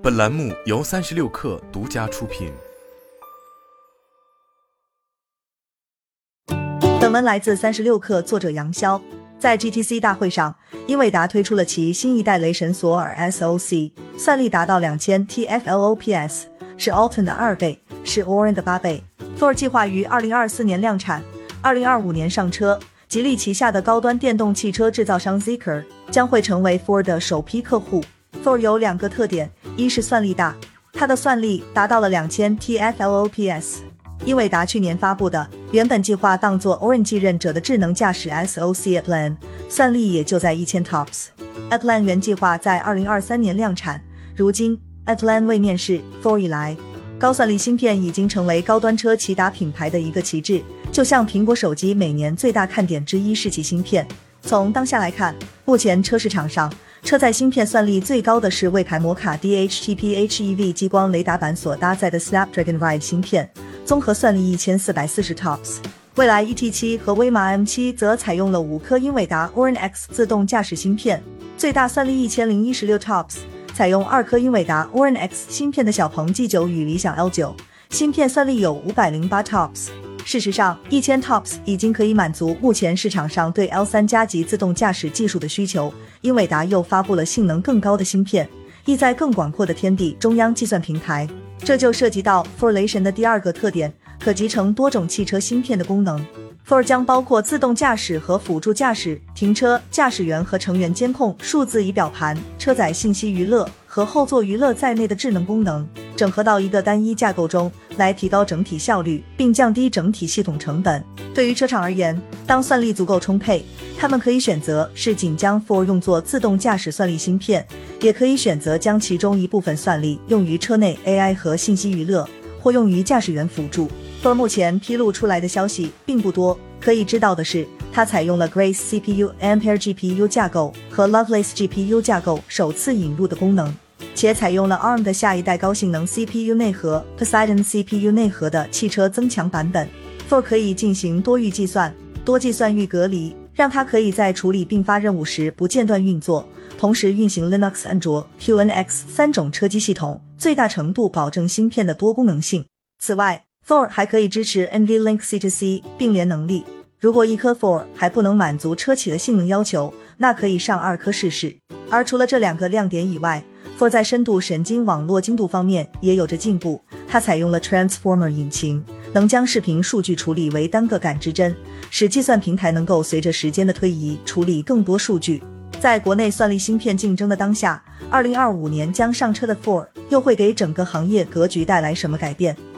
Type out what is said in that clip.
本栏目由36氪独家出品。 本文来自36氪，作者杨潇。在 GTC 大会上，英伟达推出了其新一代雷神索尔 SoC， 算力达到2000 TFLOPS， 是 Alton 的2倍，是 Orin 的8倍。Thor 计划于2024年量产，2025年上车。吉利旗下的高端电动汽车制造商 Zeekr 将会成为 Ford 的首批客户。Thor 有2个特点，一是算力大，它的算力达到了2000 TFLOPS。英伟达去年发布的原本计划当作 Orin 继任者的智能驾驶 SoC Atlan， 算力也就在1000 TOPS。Atlan 原计划在2023年量产，如今 Atlan 为面世 Thor 以来，高算力芯片已经成为高端车骐达品牌的一个旗帜，就像苹果手机每年最大看点之一是其芯片。从当下来看，目前车市场上车载芯片算力最高的是为凯摩卡 DHT-PHEV 激光雷达板所搭载的 Snapdragon Ride 芯片，综合算力1440 TOPS。蔚来 ET7 和威马 M7 则采用了5颗英伟达 Orin X 自动驾驶芯片，最大算力1016 TOPS。采用2颗英伟达 Orin X 芯片的小鹏 G9 与理想 L9 芯片算力有508 TOPS。事实上，1000 TOPS 已经可以满足目前市场上对 L3 加级自动驾驶技术的需求。英伟达又发布了性能更高的芯片，意在更广阔的天地中央计算平台。这就涉及到 Thor 雷神的第2个特点，可集成多种汽车芯片的功能。Thor 将包括自动驾驶和辅助驾驶、停车、驾驶员和成员监控、数字仪表盘、车载信息娱乐和后座娱乐在内的智能功能，整合到一个单一架构中，来提高整体效率，并降低整体系统成本。对于车厂而言，当算力足够充沛，他们可以选择是仅将 Thor 用作自动驾驶算力芯片，也可以选择将其中一部分算力用于车内 AI 和信息娱乐，或用于驾驶员辅助。Thor 目前披露出来的消息并不多，可以知道的是，它采用了 Grace CPU、Ampere GPU 架构和 Lovelace GPU 架构首次引入的功能，且采用了 ARM 的下一代高性能 CPU 内核 Poseidon CPU 内核的汽车增强版本。Thor 可以进行多域计算、多计算域隔离，让它可以在处理并发任务时不间断运作，同时运行 Linux、安卓、QNX 3种车机系统，最大程度保证芯片的多功能性。此外，Thor 还可以支持 NVLink C2C 并联能力。如果一颗 Thor 还不能满足车企的性能要求，那可以上2颗试试。而除了这2个亮点以外， Thor 在深度神经网络精度方面也有着进步。它采用了 Transformer 引擎，能将视频数据处理为单个感知帧，使计算平台能够随着时间的推移处理更多数据。在国内算力芯片竞争的当下，2025年将上车的 Thor 又会给整个行业格局带来什么改变？